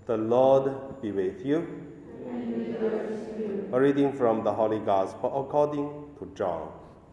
The Lord be with you. And with your spirit. A reading from the Holy Gospel according to John.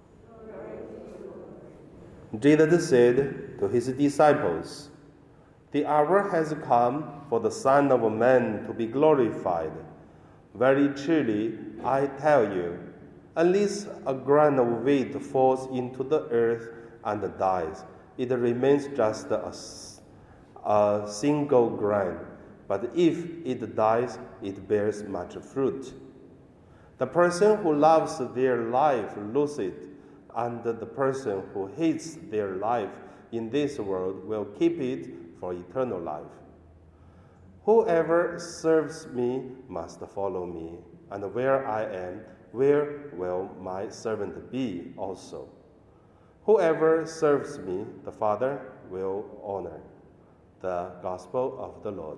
Jesus said to his disciples, "The hour has come for the Son of Man to be glorified. Very truly, I tell you, unless a grain of wheat falls into the earth and dies, it remains just a single grain. But if it dies, it bears much fruit. The person who loves their life loses it, and the person who hates their life in this world will keep it for eternal life. Whoever serves me must follow me, and where I am, where will my servant be also? Whoever serves me, the Father will honor." The Gospel of the Lord.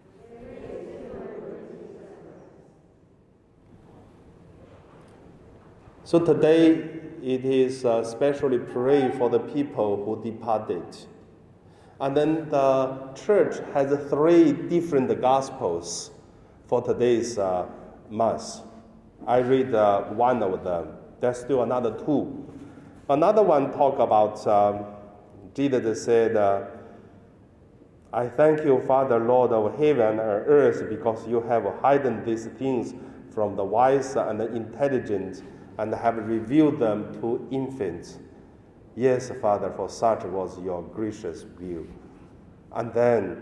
So today it is especially pray for the people who departed. And then the church has 3 different Gospels for today's Mass. I read one of them. There's still another 2. Another one talk about, Jesus said, "I thank you, Father, Lord of heaven and earth, because you have hidden these things from the wise and the intelligent and have revealed them to infants. Yes, Father, for such was your gracious will." And then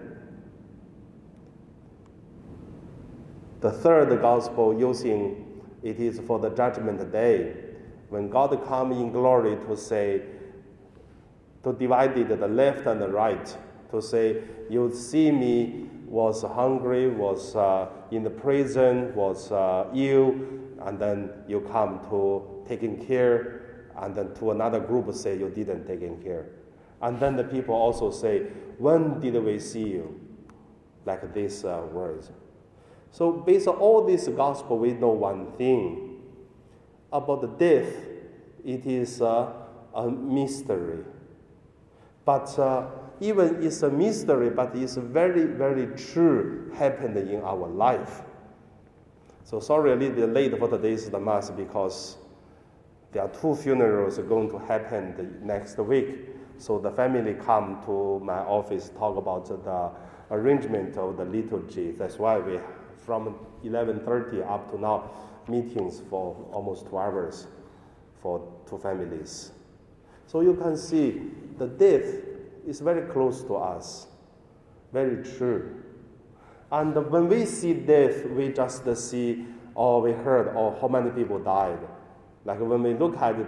the third Gospel using it is for the judgment day, when God come in glory to say, to divide it the left and the right, to say, "You see me was hungry, was in the prison, was ill, and then you come to taking care," and then to another group say you didn't taking care. And then the people also say, "When did we see you?" Like these words. So based on all this gospel, we know one thing. About the death, it is a mystery. But even it's a mystery, but it's very, very true happened in our life. So sorry a little bit late for today's Mass because there are 2 funerals going to happen next week. So the family come to my office, talk about the arrangement of the liturgy. That's why we, from 11:30 up to now, meetings for almost 2 hours for 2 families. So you can see the death is very close to us, very true. And when we see death, we just see, or we heard, or how many people died. Like when we look at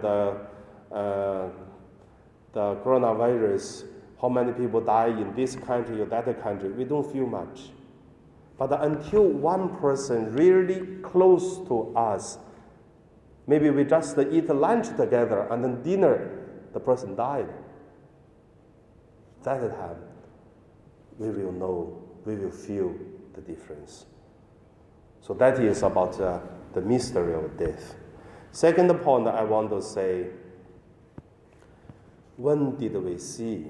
the coronavirus, how many people die in this country or that country, we don't feel much. But until one person really close to us, maybe we just eat lunch together and then dinner, the person died. That time, we will know, we will feel the difference. So that is about the mystery of death. Second point I want to say, when did we see?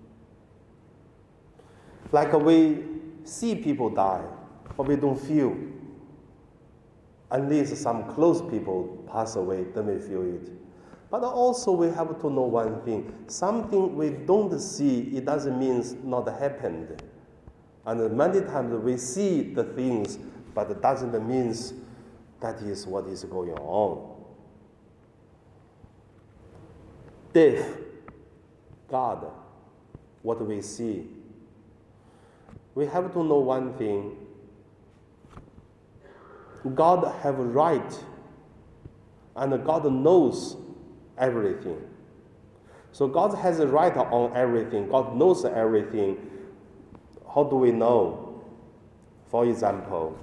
Like we see people die, but we don't feel. Unless some close people pass away, then we feel it. But also we have to know one thing. Something we don't see, it doesn't mean not happened. And many times we see the things, but it doesn't mean that is what is going on. Death, God, what we see. We have to know one thing. God have right, and God knows everything. So God has a right on everything. God knows everything. How do we know? For example,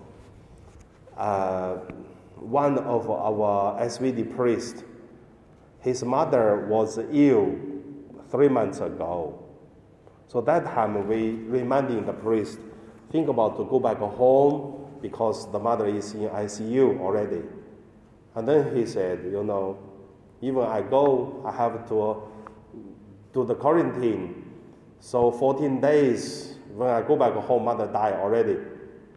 one of our SVD priests, his mother was ill 3 months ago. So that time we reminding the priest, think about to go back home because the mother is in ICU already. And then he said, even I go, I have to do the quarantine. So 14 days, when I go back home, mother died already.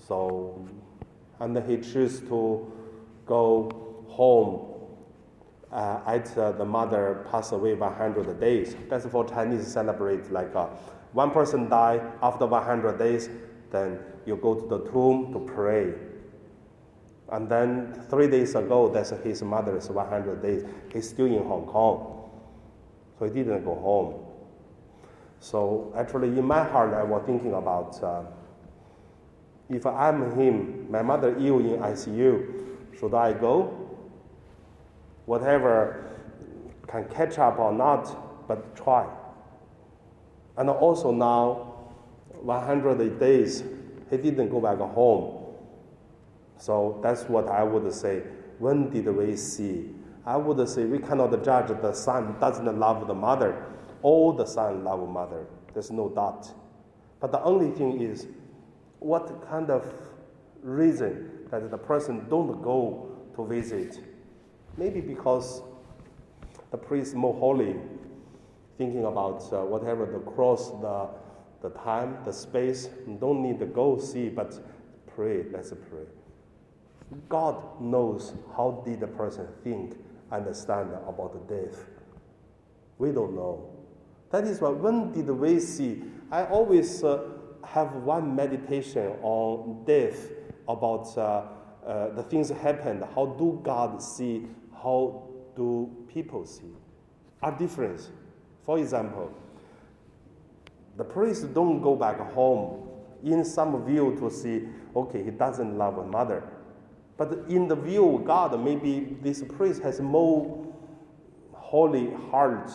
So, and he chose to go home after the mother passed away 100 days. That's for Chinese celebrate, like one person die after 100 days, then you go to the tomb to pray. And then 3 days ago, that's his mother's 100 days. He's still in Hong Kong, so he didn't go home. So actually, in my heart, I was thinking about if I'm him, my mother ill in ICU, should I go? Whatever can catch up or not, but try. And also now, 100 days, he didn't go back home. So that's what I would say. When did we see? I would say we cannot judge the son doesn't love the mother. All the son love mother. There's no doubt. But the only thing is, what kind of reason that the person don't go to visit? Maybe because the priest more holy, thinking about whatever the cross, the time, the space, don't need to go see, but pray, let's pray. God knows how did the person think, understand about death. We don't know. That is why when did we see? I always have one meditation on death, about the things happened. How do God see? How do people see? Are different. For example, the priest don't go back home in some view to see, okay, he doesn't love a mother. But in the view of God, maybe this priest has more holy heart,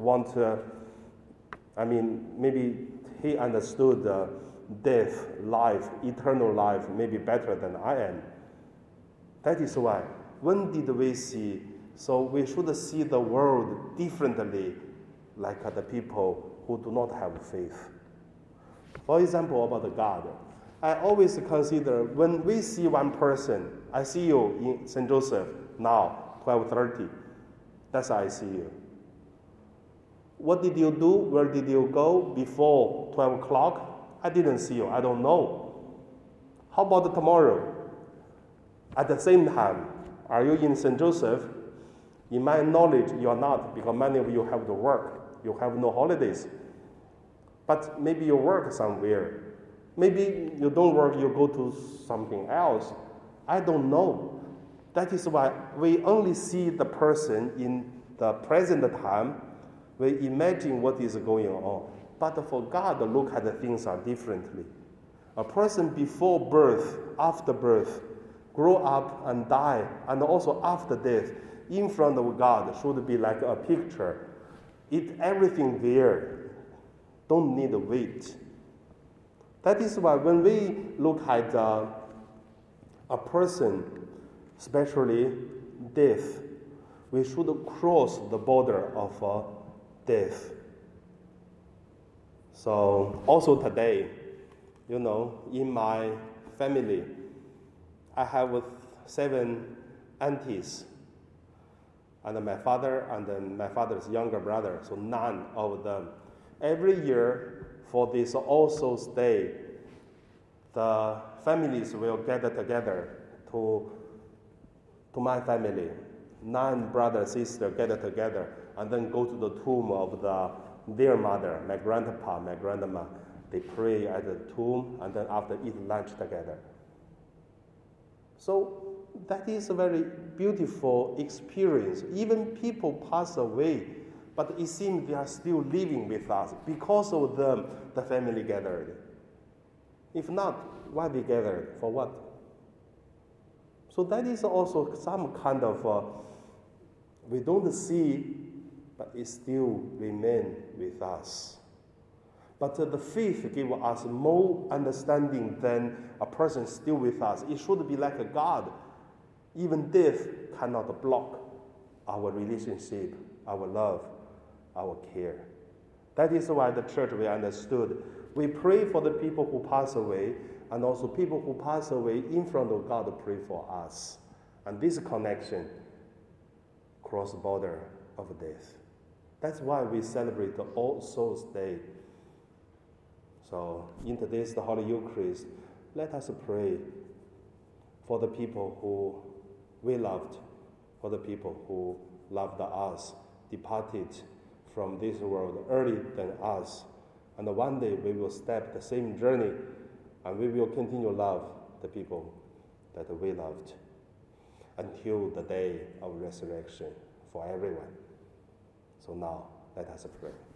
maybe he understood death, life, eternal life, maybe better than I am. That is why, when did we see? So we should see the world differently, like the people who do not have faith. For example, about God, I always consider when we see one person, I see you in St. Joseph now, 12:30. That's how I see you. What did you do? Where did you go before 12 o'clock? I didn't see you. I don't know. How about tomorrow? At the same time, are you in St. Joseph? In my knowledge, you are not, because many of you have to work. You have no holidays. But maybe you work somewhere. Maybe you don't work, you go to something else. I don't know. That is why we only see the person in the present time. We imagine what is going on. But for God, look at the things are differently. A person before birth, after birth, grow up and die, and also after death, in front of God should be like a picture. Everything there. Don't need to wait. That is why when we look at a person, especially death, we should cross the border of death. So also today, in my family, I have 7 aunties, and my father and then my father's younger brother, so 9 of them. Every year for this All Souls Day, the families will gather together to my family. 9 brothers, sisters gather together and then go to the tomb of their mother, my grandpa, my grandma. They pray at the tomb and then after eat lunch together. So that is a very beautiful experience. Even people pass away, but it seems they are still living with us. Because of them, the family gathered. If not, why they gathered? For what? So that is also some kind of, we don't see, but it still remains with us. But the faith gives us more understanding than a person still with us. It should be like a God. Even death cannot block our relationship, our love, our care. That is why the church, we understood. We pray for the people who pass away, and also people who pass away in front of God pray for us. And this connection cross the border of death. That's why we celebrate the All Souls Day. So in today's the Holy Eucharist, let us pray for the people who we loved, for the people who loved us, departed from this world earlier than us. And one day we will step the same journey, and we will continue to love the people that we loved until the day of resurrection for everyone. So now, let us pray.